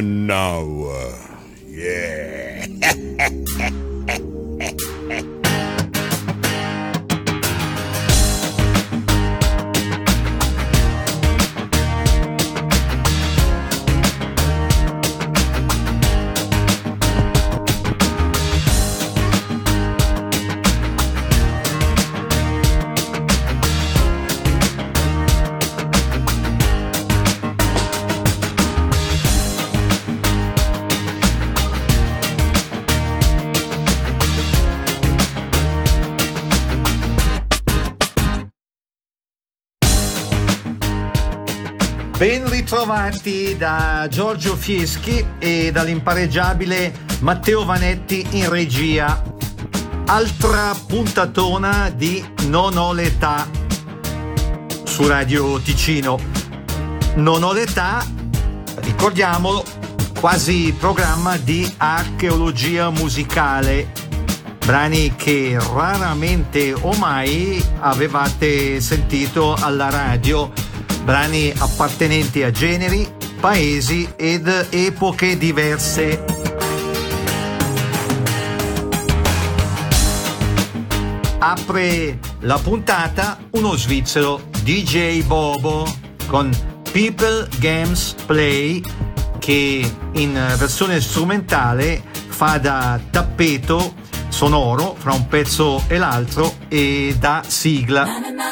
And now, yeah. Ben ritrovati da Giorgio Fieschi e dall'impareggiabile Matteo Vanetti in regia. Altra puntatona di Non ho l'età su Radio Ticino. Non ho l'età, ricordiamolo, quasi programma di archeologia musicale, brani che raramente o mai avevate sentito alla radio, brani appartenenti a generi, paesi ed epoche diverse. Apre la puntata uno svizzero, DJ Bobo, con People Games Play, che in versione strumentale fa da tappeto sonoro fra un pezzo e l'altro e da sigla.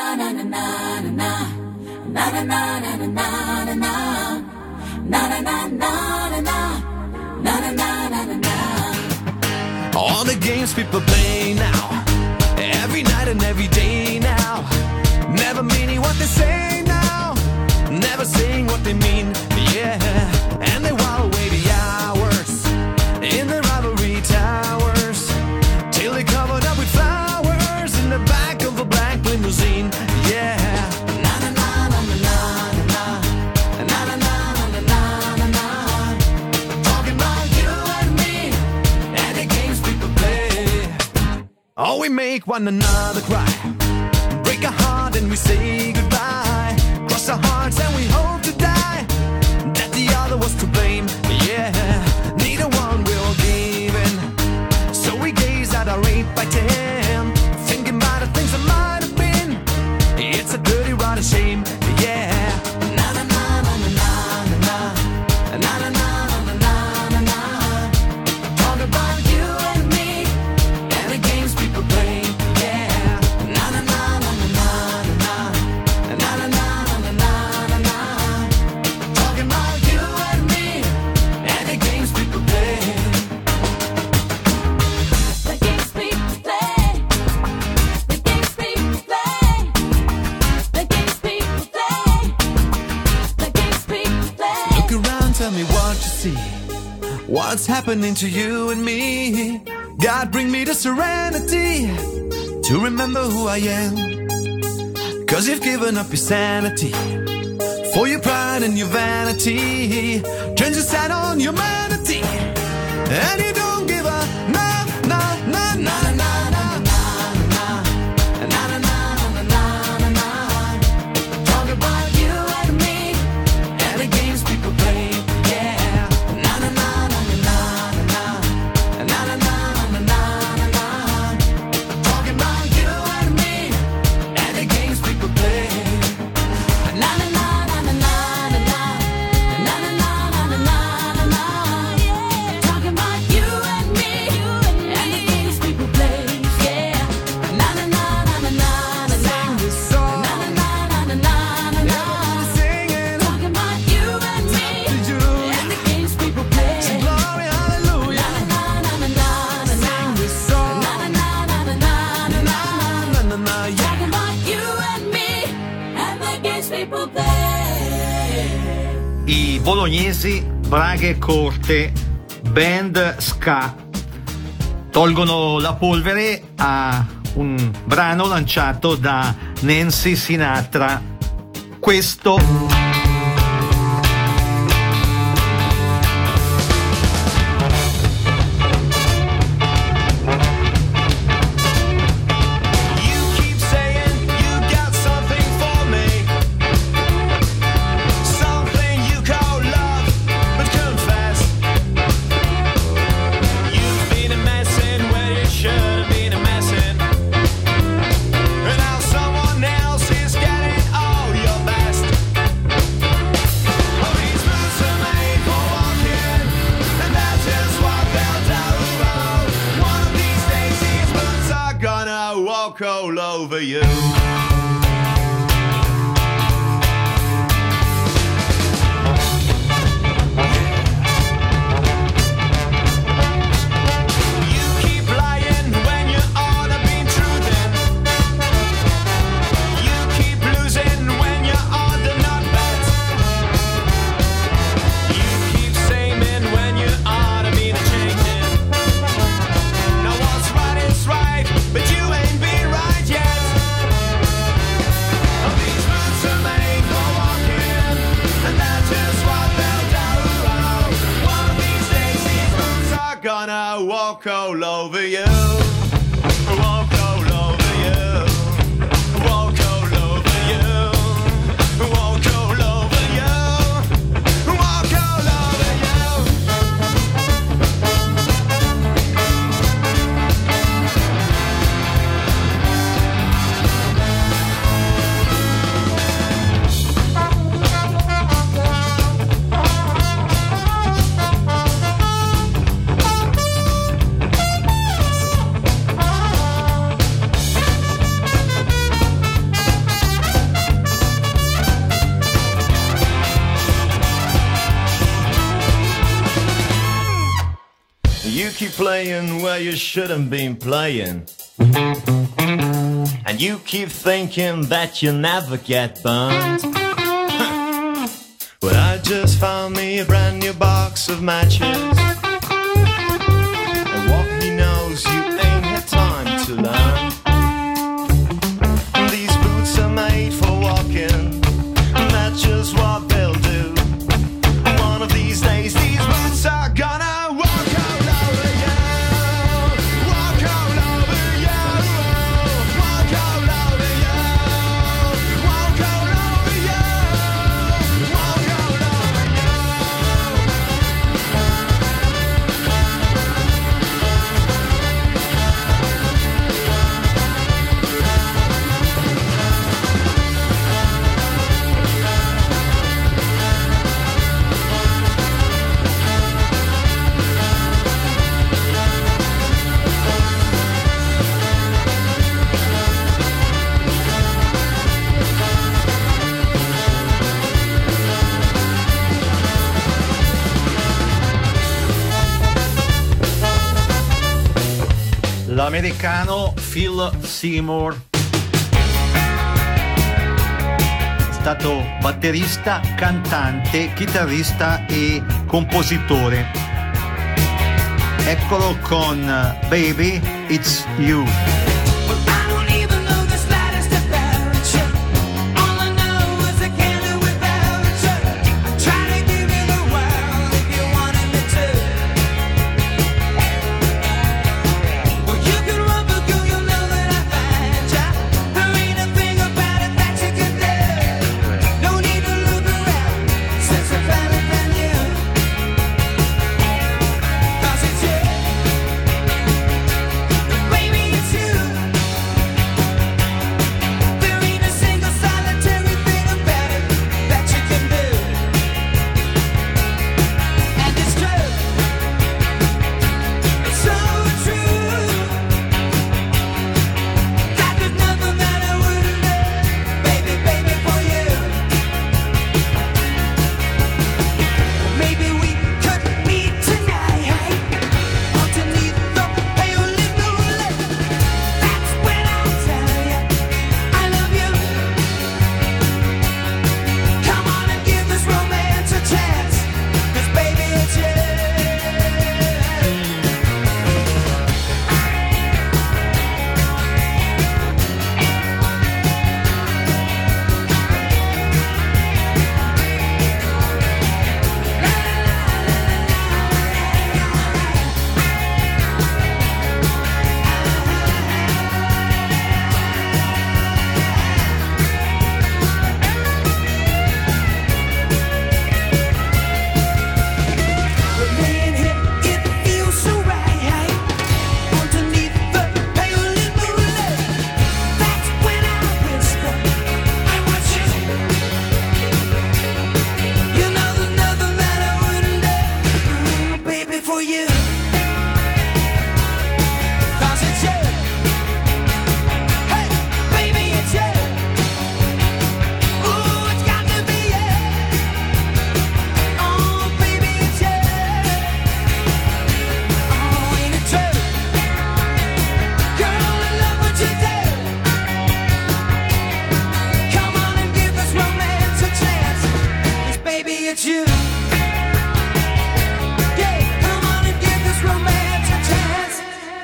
All the games people play now, every night and every day now, never meaning what they say now, never saying what they mean, yeah. And they while away the hours in the rivalry towers till they covered up with flowers in the back of a black limousine, yeah. Oh, we make one another cry, break a heart and we say goodbye, cross our hearts and we hope to die, that the other was to blame, yeah. Neither one will give in, so we gaze at our 8x10, thinking about the things that might have been. It's a dirty, rotten shame, yeah. What's happening to you and me? God, bring me the serenity to remember who I am. 'Cause you've given up your sanity for your pride and your vanity. Turns your side on humanity, and you don't give a na na na na na. I bolognesi Braghe Corte, band ska, tolgono la polvere a un brano lanciato da Nancy Sinatra. Questo Fast walk all over you. Walk all over you. Walk all over you. Walk all over you. Walk all over you. Walk all over you. You keep playing where you shouldn't been playing. And you keep thinking that you'll never get burned. Well, I just found me a brand new box of matches. And what he knows you ain't had time to learn. These boots are made for walking, and that's just what they'll do. One of these days, these boots are gonna l'americano Phil Seymour, è stato batterista, cantante, chitarrista e compositore. Eccolo con Baby It's You. Baby, it's you.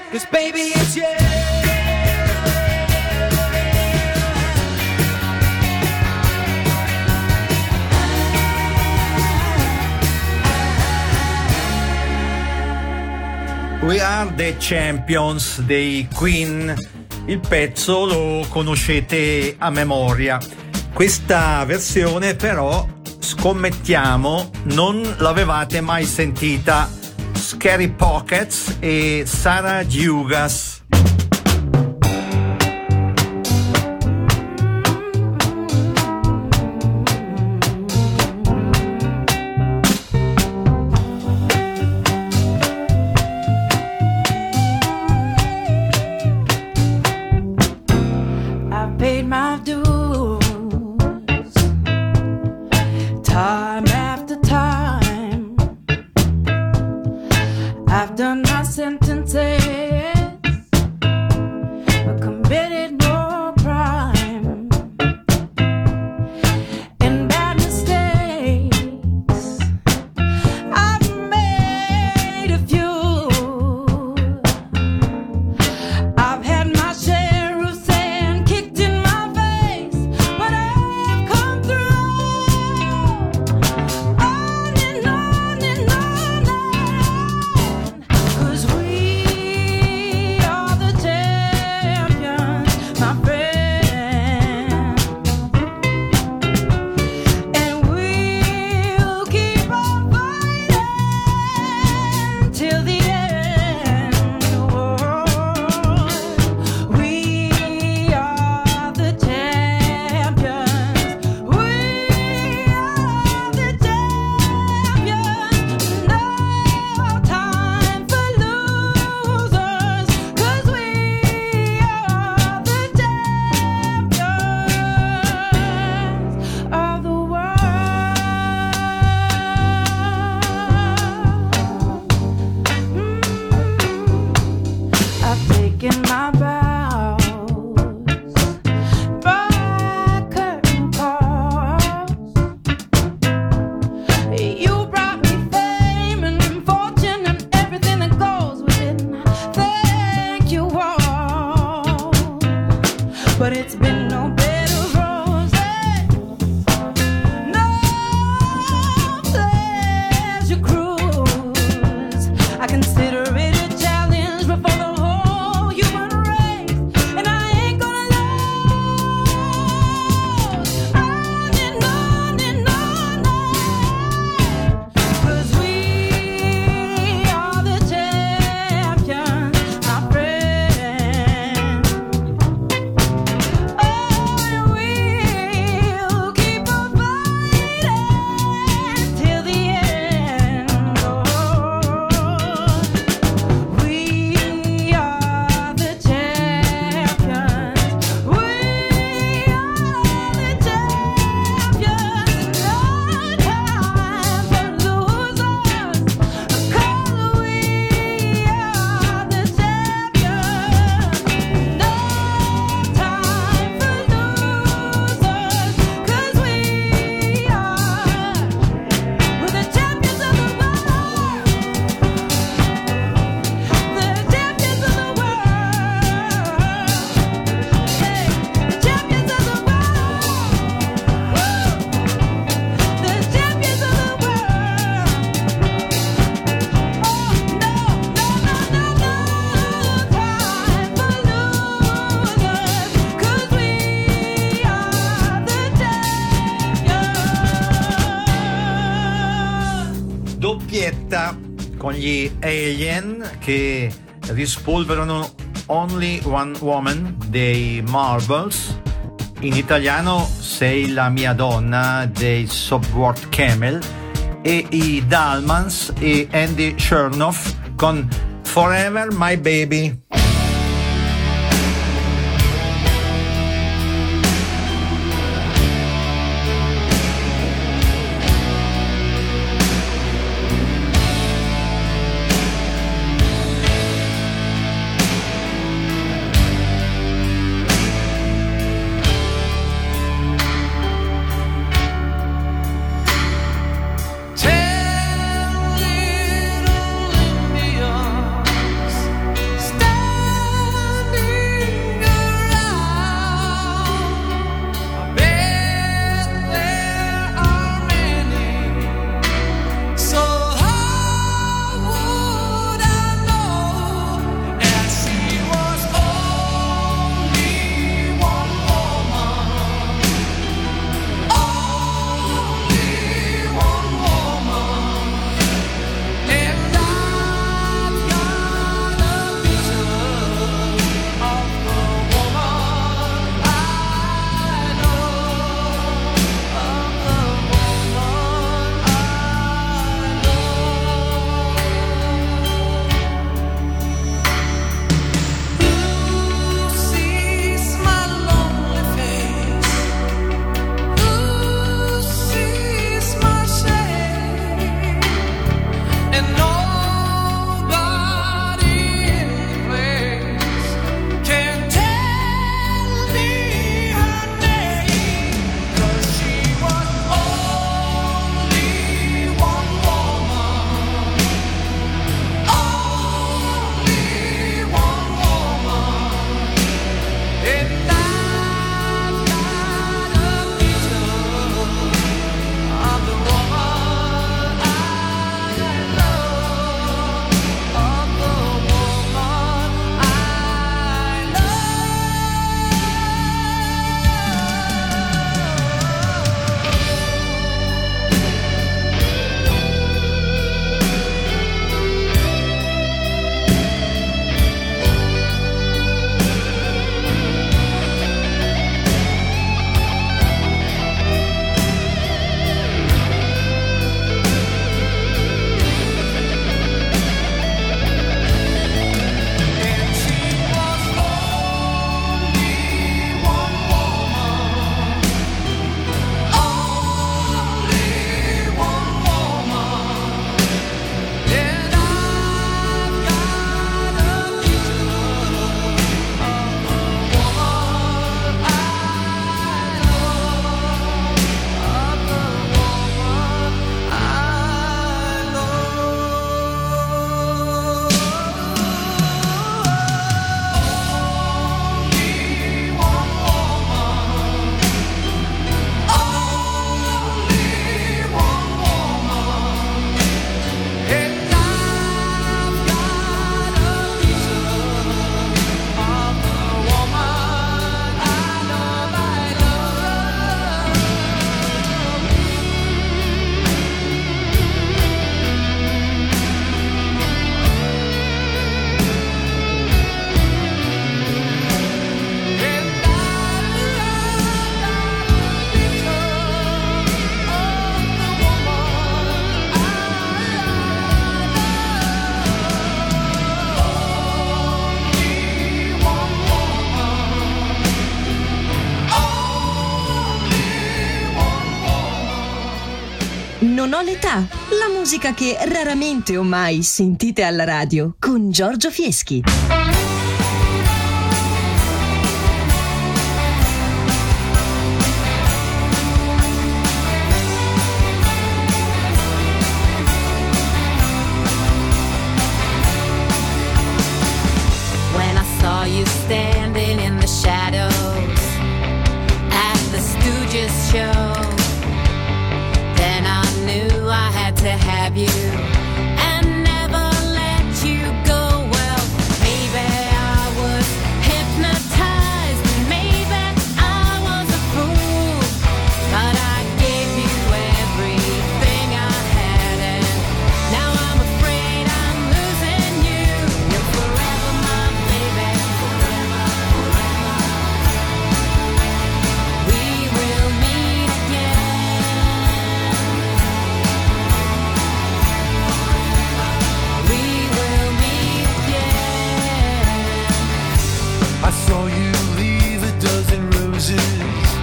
'cause baby it's you. We Are the Champions dei Queen. Il pezzo lo conoscete a memoria. Questa versione però, scommettiamo, non l'avevate mai sentita. Scary Pockets e Sarah Dugas. Con gli Alien che rispolverano Only One Woman dei Marbles, in italiano Sei la mia donna dei Subword Camel, e i Dalmans e Andy Chernoff con Forever My Baby. Stay Non ho l'età, la musica che raramente o mai sentite alla radio con Giorgio Fieschi. When I saw you standing in the shadows at the Stooges show, then I knew I had to have you and never let you go. Well, maybe I was hypnotized, maybe I was a fool, but I gave you everything I had, and now I'm afraid I'm losing you. You're forever my baby, forever, forever. We will meet again. We will meet again. I saw you leave a dozen roses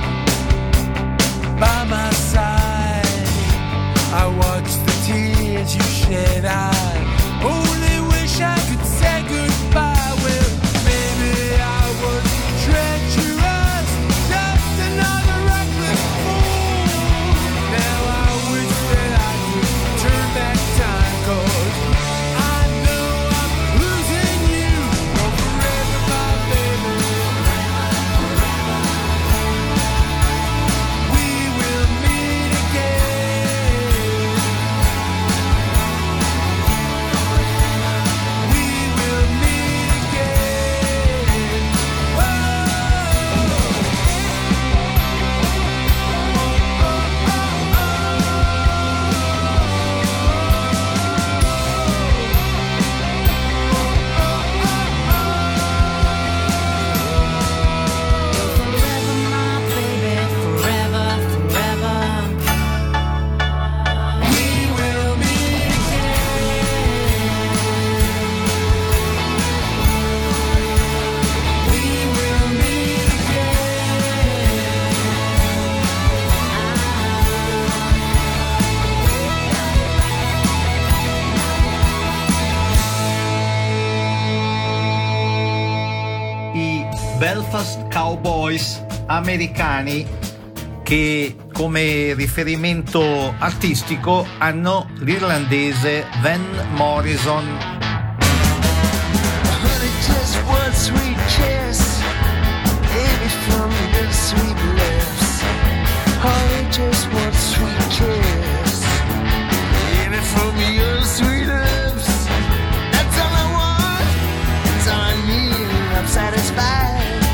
by my side. I watched the tears you shed. I only wish I could say goodbye. Well, maybe I was treacherous, just another reckless fool. Now I wish that I could turn back time, 'cause I know I'm losing you. Oh, forever, my baby. We will meet again. We will meet again. Forever my baby, forever, forever. We will meet again. We will meet I Belfast Cowboys americani, che come riferimento artistico hanno l'irlandese Van Morrison. Honey, just one sweet kiss, baby, from your sweet lips. Honey, just one sweet kiss, baby, from your sweet lips. That's all I want, that's all I need, I'm satisfied.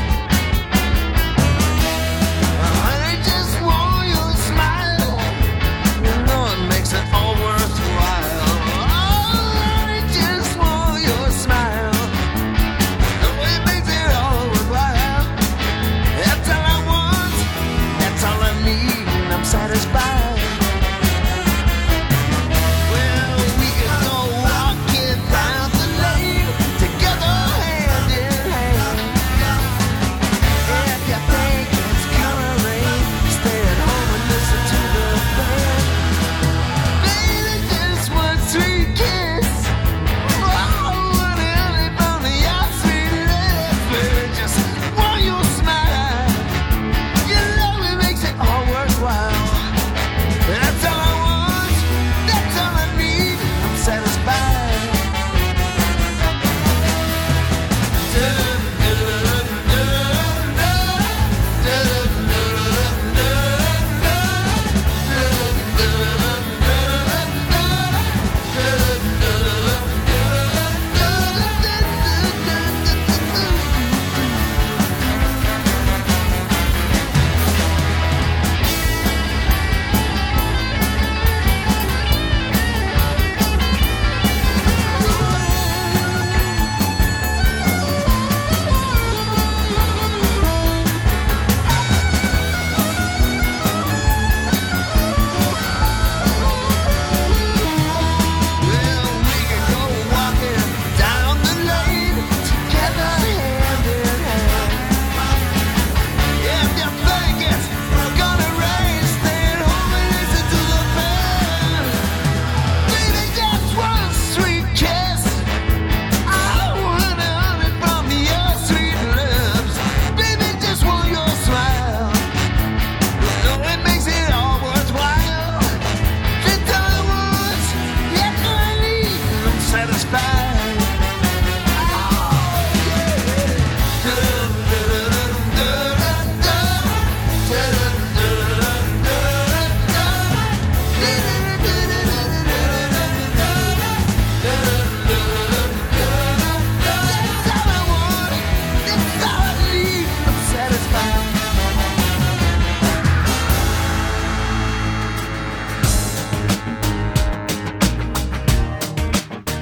Honey, just want your smile, you know it makes it all worthwhile. Oh, honey, just want your smile. The way it makes it all worthwhile. That's all I want, that's all I need, and I'm satisfied. Well, we could go walking down the lane, together hand in hand. If you think it's gonna rain, stay at home and listen to the band. Baby, just one sweet kiss. Oh, honey, honey, from your sweet lips. Baby, just want your smile. Your love, it makes it all worthwhile. That's all I want, that's all I need, I'm satisfied.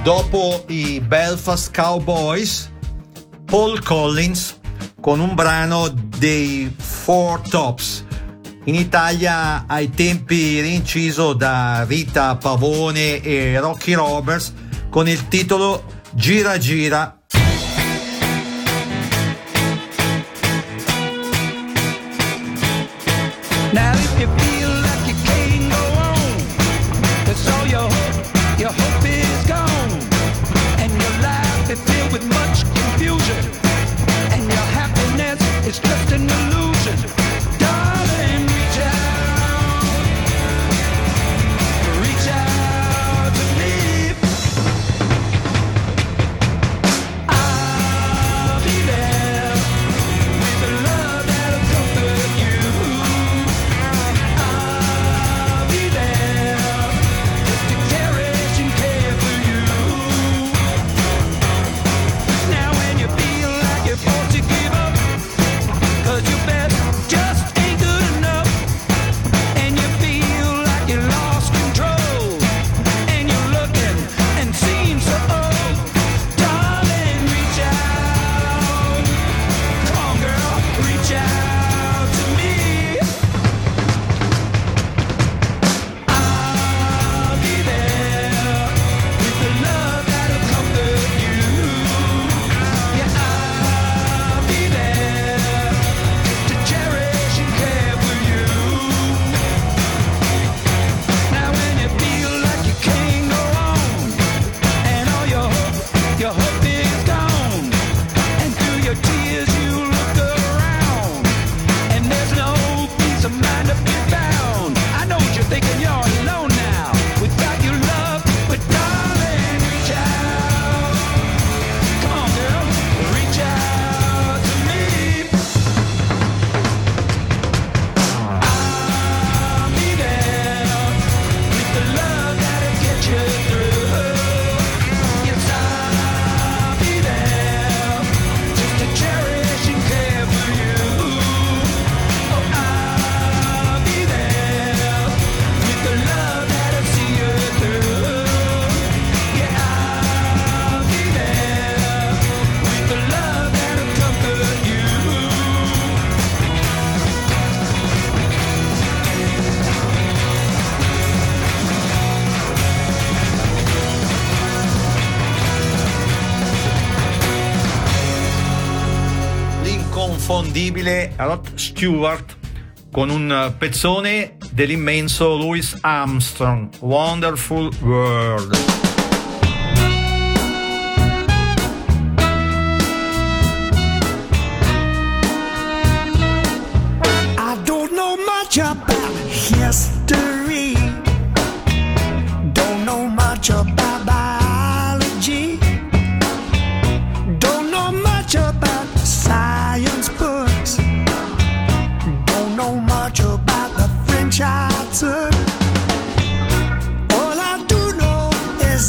dopo i Belfast Cowboys, Paul Collins con un brano dei Four Tops, in Italia ai tempi rinciso da Rita Pavone e Rocky Roberts con il titolo Gira Gira. Now if you feel like you can't go on, 'cause all your hope is gone, and your life is filled with much confusion, and your happiness is just an illusion, darling, reach out to me. I'll be there with the love that'll comfort you. I'll be there just to cherish and care for you. Now when you feel like you're forced to give up, 'cause your best just ain't good enough, and you feel like you lost control, and you're looking and seem so old, darling, reach out. Come on, girl, reach out to me. I'll be there with the love that'll comfort you. Yeah, I'll be there just to cherish and care for you. Now when you feel like you can't go on, and all your hope is gone, and through your tears you look around, and there's no peace of mind to be found. I know what you're thinking, you're alone now, without your love, but darling, reach out. Come on, girl, reach out to me. I'll be there with the love that'll get you through. Yes, I'll be there just to cherish and care for you. Oh, I'll be there with the love that'll see you through. Yeah, I'll be there with the love that'll comfort you. L'inconfondibile Rod Stewart con un pezzone dell'immenso Louis Armstrong, Wonderful World. I don't know much about history, don't know much about biology, don't know much about science books, don't know much about the French I took. All I do know is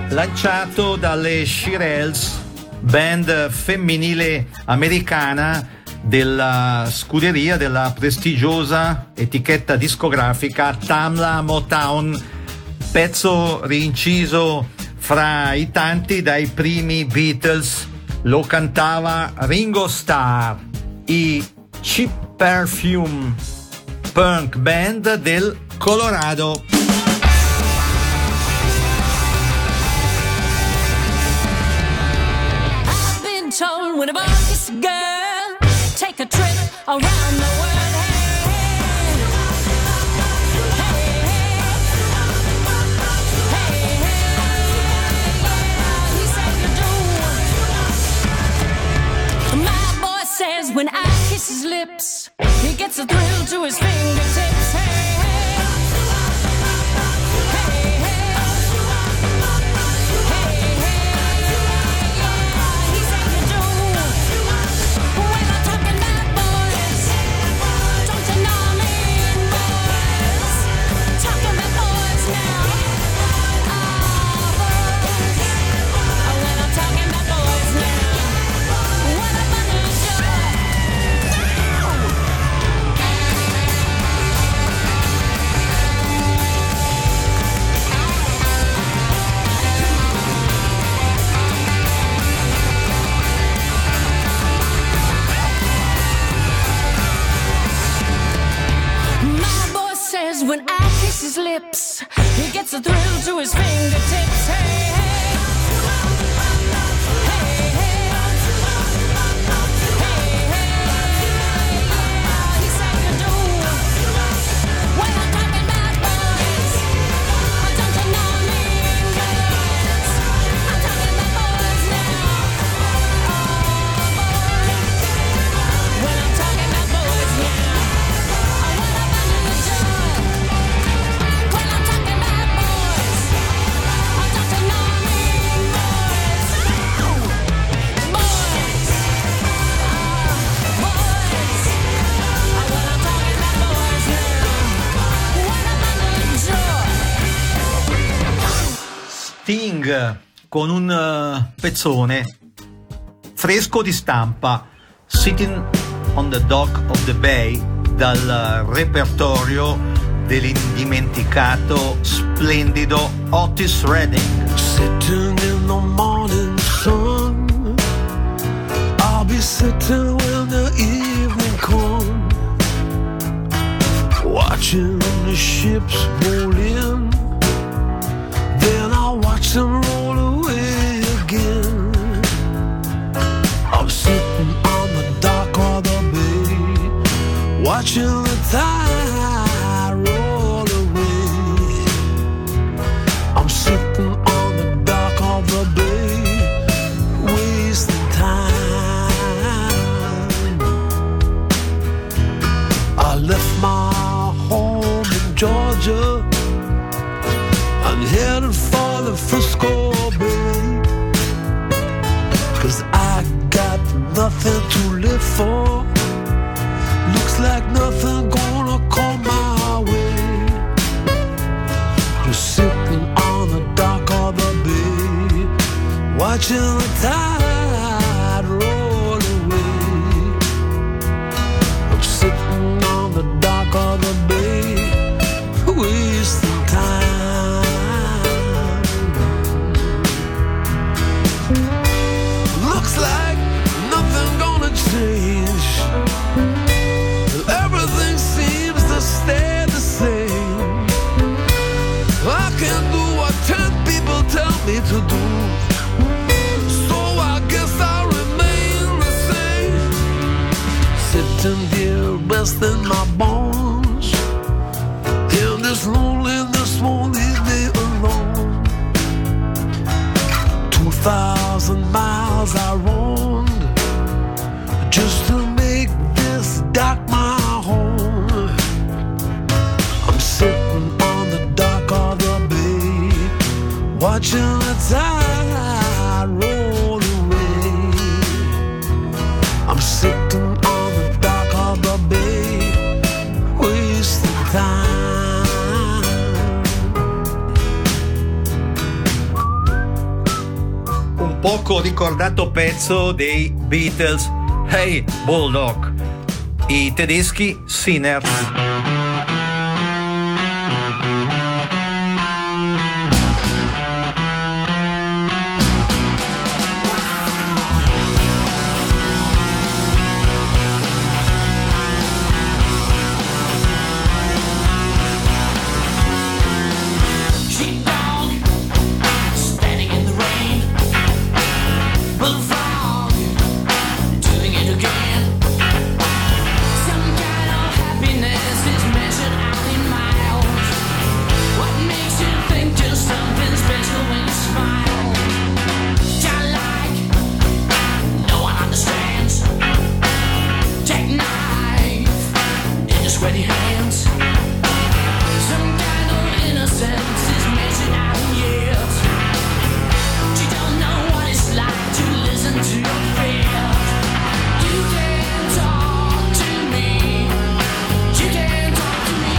lanciato dalle Shirelles, band femminile americana della scuderia della prestigiosa etichetta discografica Tamla Motown, pezzo rinciso fra i tanti dai primi Beatles. Lo cantava Ringo Starr, i Cheap Perfume, punk band del Colorado. I've been told when a boy kisses a girl, take a trip around the world. Says when I kiss his lips, he gets a thrill to his fingertips. Hey, hey, hey, hey, he said you do. When I'm talking about boys, don't you know me, boys? Talking about boys now. Boys. When I'm talking about boys now. What a bundle of joy. My boy says when I kiss his lips, he gets a thrill to his fingertips. Hey, hey. Hey, hey. Hey, hey. He said you do. When I'm talking about boys, don't you know me, boys? I'm talking about boys now. When I'm talking about boys now. What a bundle of joy. When I'm talking about boys, don't you know me, boys? Boys. Boys. When I'm talking about boys now. What a bundle of joy. Sting con un pezzone fresco di stampa, Sitting on the Dock of the Bay, dal repertorio dell'indimenticato splendido Otis Redding. Sitting in the morning sun, I'll be sitting when the evening comes, watching the ships roll in, then I'll watch them roll away again. I'm sitting on the dock of the bay, watching the tide roll away. I'm sitting on the dock of the bay, wasting time. I left my home in Georgia, I'm headed for the Frisco Bay, 'cause I got nothing to live for. Looks like nothing gonna come my way. Just sitting on the dock of the bay, watching the tide roll away. I'm sitting on the dock of the bay, wasting time. Looks like nothing gonna change. Everything seems to stay the same. I can do what 10 people tell me to do, so I guess I'll remain the same. Sitting here resting my bones, in this loneliness won't leave me alone. 2,000 miles I roamed just to make this dock my home. I'm sitting on the dock of the bay, watching the tide roll away. I'm sitting on the dock of the bay, wasting time. poco ricordato pezzo dei Beatles, Hey Bulldog, i tedeschi Sinners. Sheepdog, standing in the rain. Bullfrog, doing it again. Some kind of happiness is measured out in miles. What makes you think you're something special when you smile? Childlike, no one understands. Jackknife in your sweaty hands. Some kind of innocence is measured out in years. You don't know what it's like to listen to your fears. You can talk to me. You can talk to me.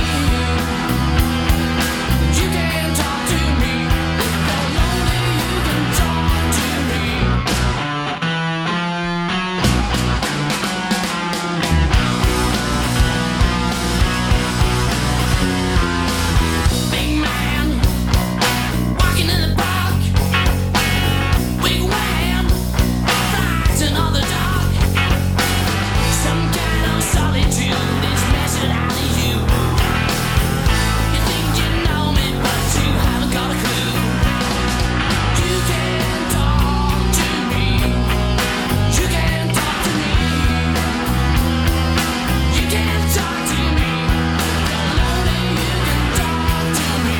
You can talk to me. If you're lonely, you can talk to me. Big man, walking in the park. Big wham, rising on the dock. Some kind of solitude is measured out of you. You think you know me, but you haven't got a clue. You can talk to me. You can talk to me. You can talk to me. If you're lonely, you can talk to me.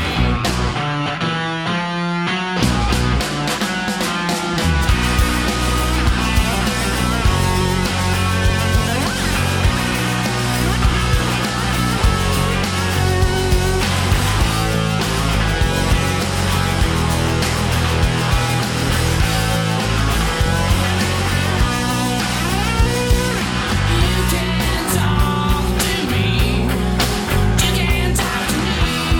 You can talk to me. You can talk to me.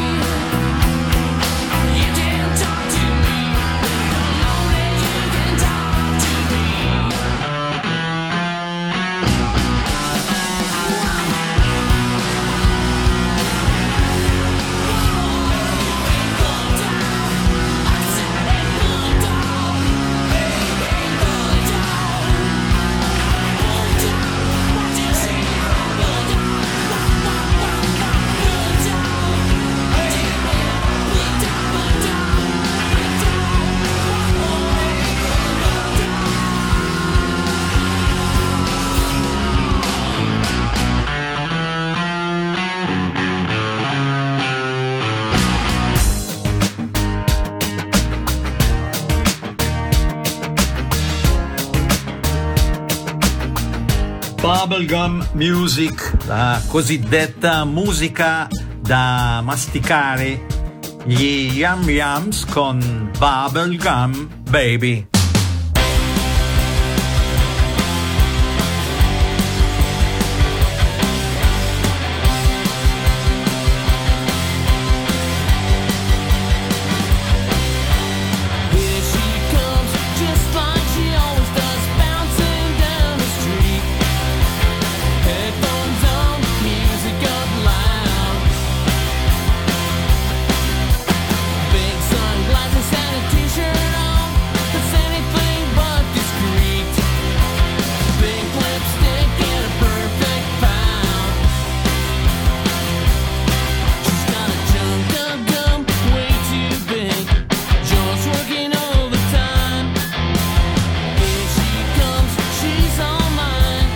You can talk to me. If you're lonely, you can talk to me. Bubblegum Music, la cosiddetta musica da masticare, gli Yum Yums con Bubblegum Baby. Here she comes, just like she always does, bouncing down the street. Headphones on, music up loud. Big sunglasses and a t-shirt on, that's anything but discreet. Pink lipstick and a perfect pound. She's got a chunk of gum, way too big. Jaws working overtime. Here she comes, she's all mine.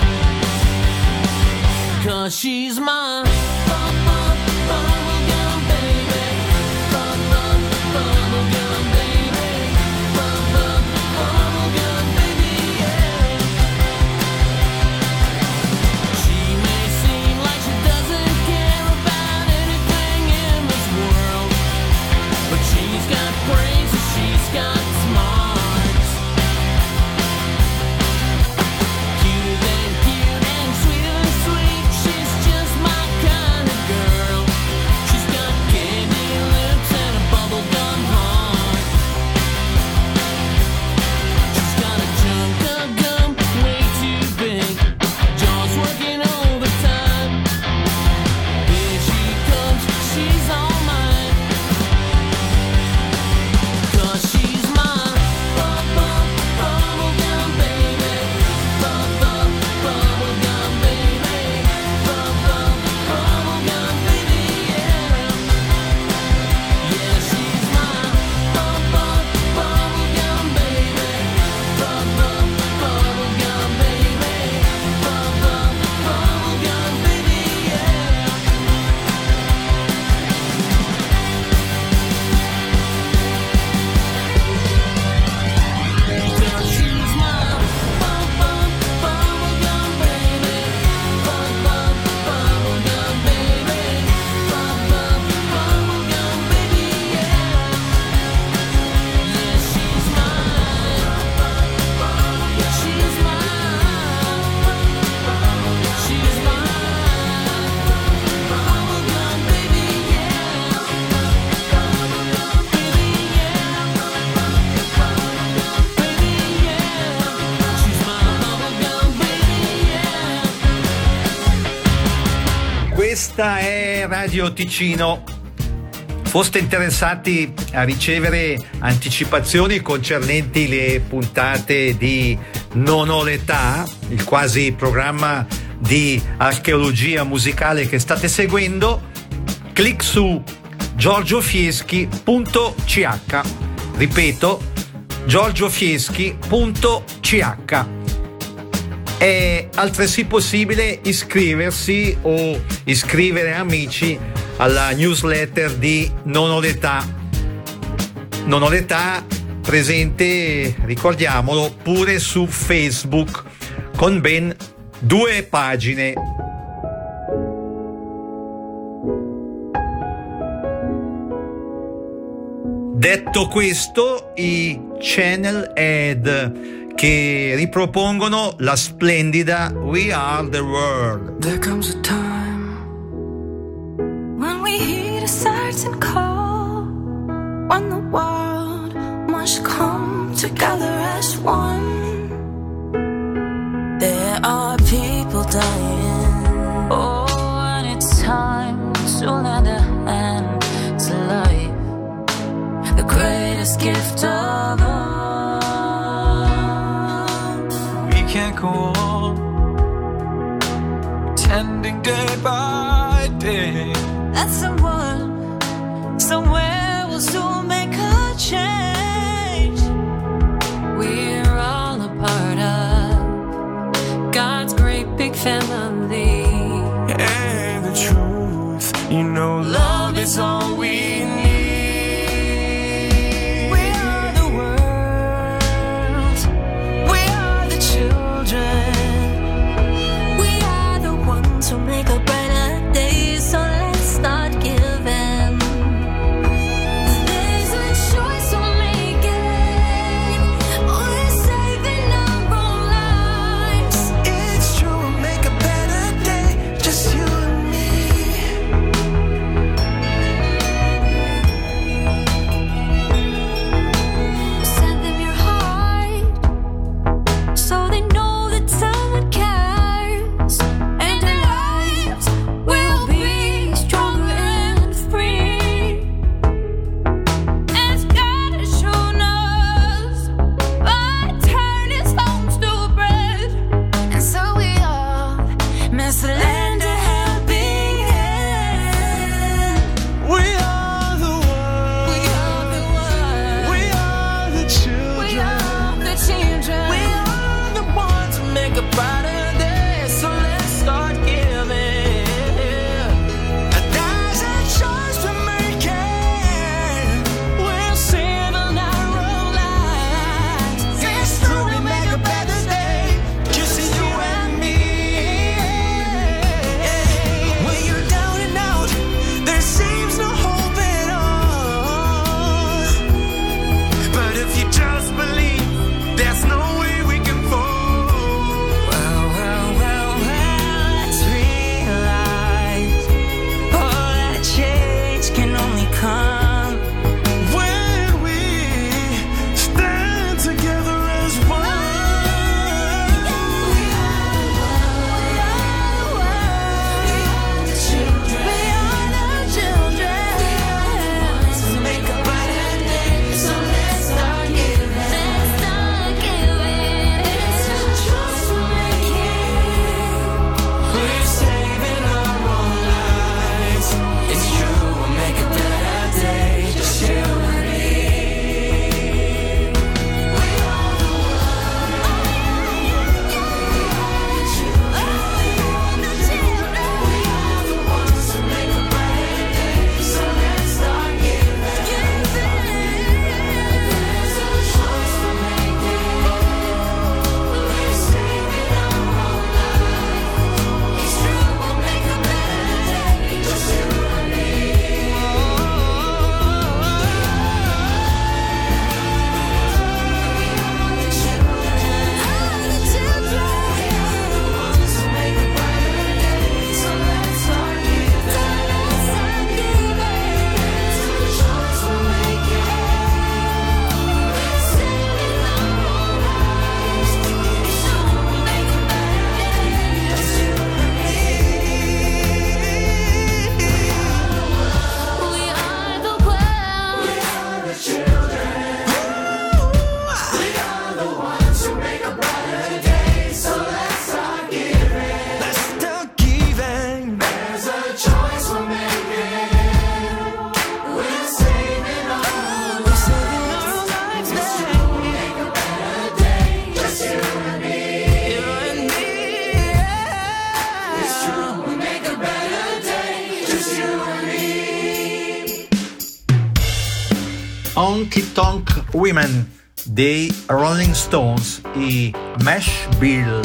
'Cause she's mine. Bubblegum baby. Bubblegum baby. Bubblegum baby, yeah. She may seem like she doesn't care about anything in this world, but she's got brains and she's got smarts. Cuter than cute and sweeter than sweet. She's just my kind of girl. She's got candy lips and a bubblegum heart. Questa è Radio Ticino. Foste interessati a ricevere anticipazioni concernenti le puntate di Non ho l'età, il quasi programma di archeologia musicale che state seguendo, clic su giorgiofieschi.ch. Ripeto, giorgiofieschi.ch. È altresì possibile iscriversi o iscrivere amici alla newsletter di Non ho l'età. Non ho l'età, presente, ricordiamolo, pure su Facebook, con ben 2 pagine. Detto questo, i Channel Head che ripropongono la splendida We Are the World. There comes a time when we heed a certain call, when the world must come together as one. There are people dying, oh, and it's time to lend a hand to life, the greatest gift of all. We can't go on tending day by day. And someone, somewhere will soon make a change. We're all a part of God's great big family. And the truth, you know, love is all we need. We are the world. We are the children. We are the ones who make a brighter day. So let's start giving. There's a choice we're making. We're saving our own lives. It's true, we'll make a better day, just you and me. Honky Tonk Women dei Rolling Stones, i Mesh Bill.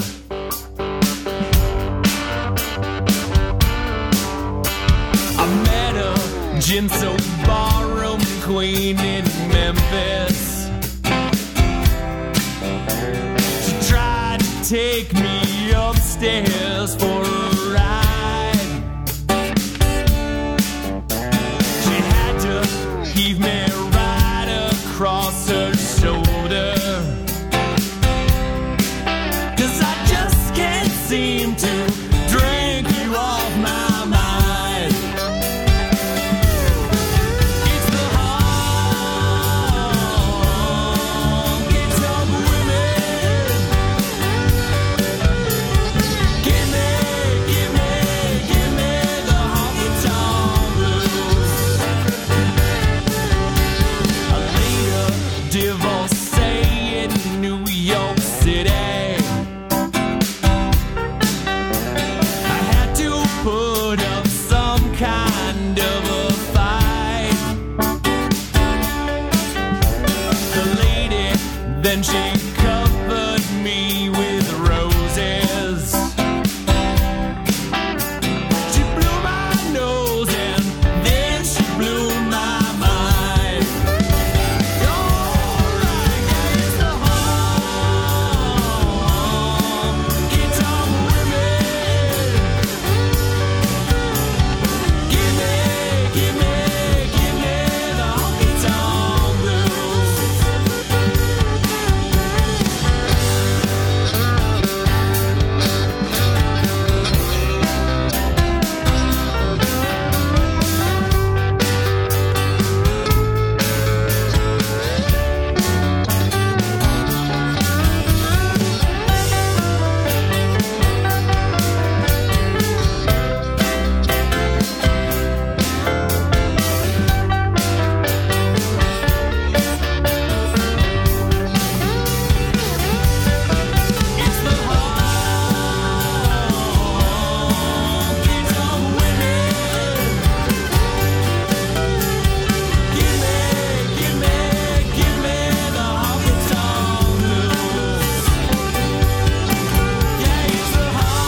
I met a Ginso barroom queen in Memphis. She tried to take me upstairs for a ride. She had to heave me right across her shoulder, 'cause I just can't seem to drink you off my mind. It's the honky-tonk women. Give me the honky-tonk blues. I laid a divorcee in New York City. I had to put up some kind of a fight. The lady, then she covered me with roses. She blew my nose and then she blew my mind. Alright, yeah, it's the honky-tonk women. Give me the honky-tonk blues. It's the honky-tonk women. Give me the honky-tonk blues. Yeah, it's the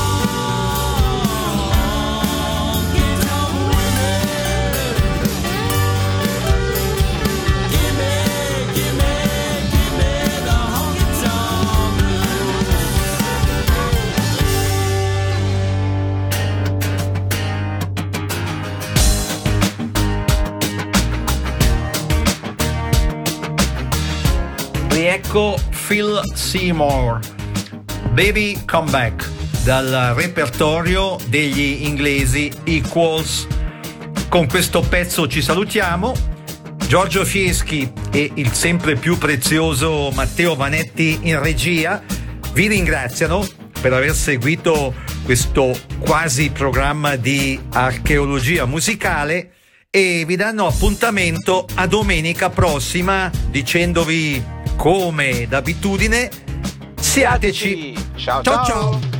honky-tonk women. Give me the honky-tonk blues. Riecco Phil Seymour, Baby Come Back, dal repertorio degli inglesi Equals. Con questo pezzo ci salutiamo. Giorgio Fieschi e il sempre più prezioso Matteo Vanetti in regia vi ringraziano per aver seguito questo quasi programma di archeologia musicale e vi danno appuntamento a domenica prossima dicendovi, come d'abitudine, siateci. Ciao Ciao ciao.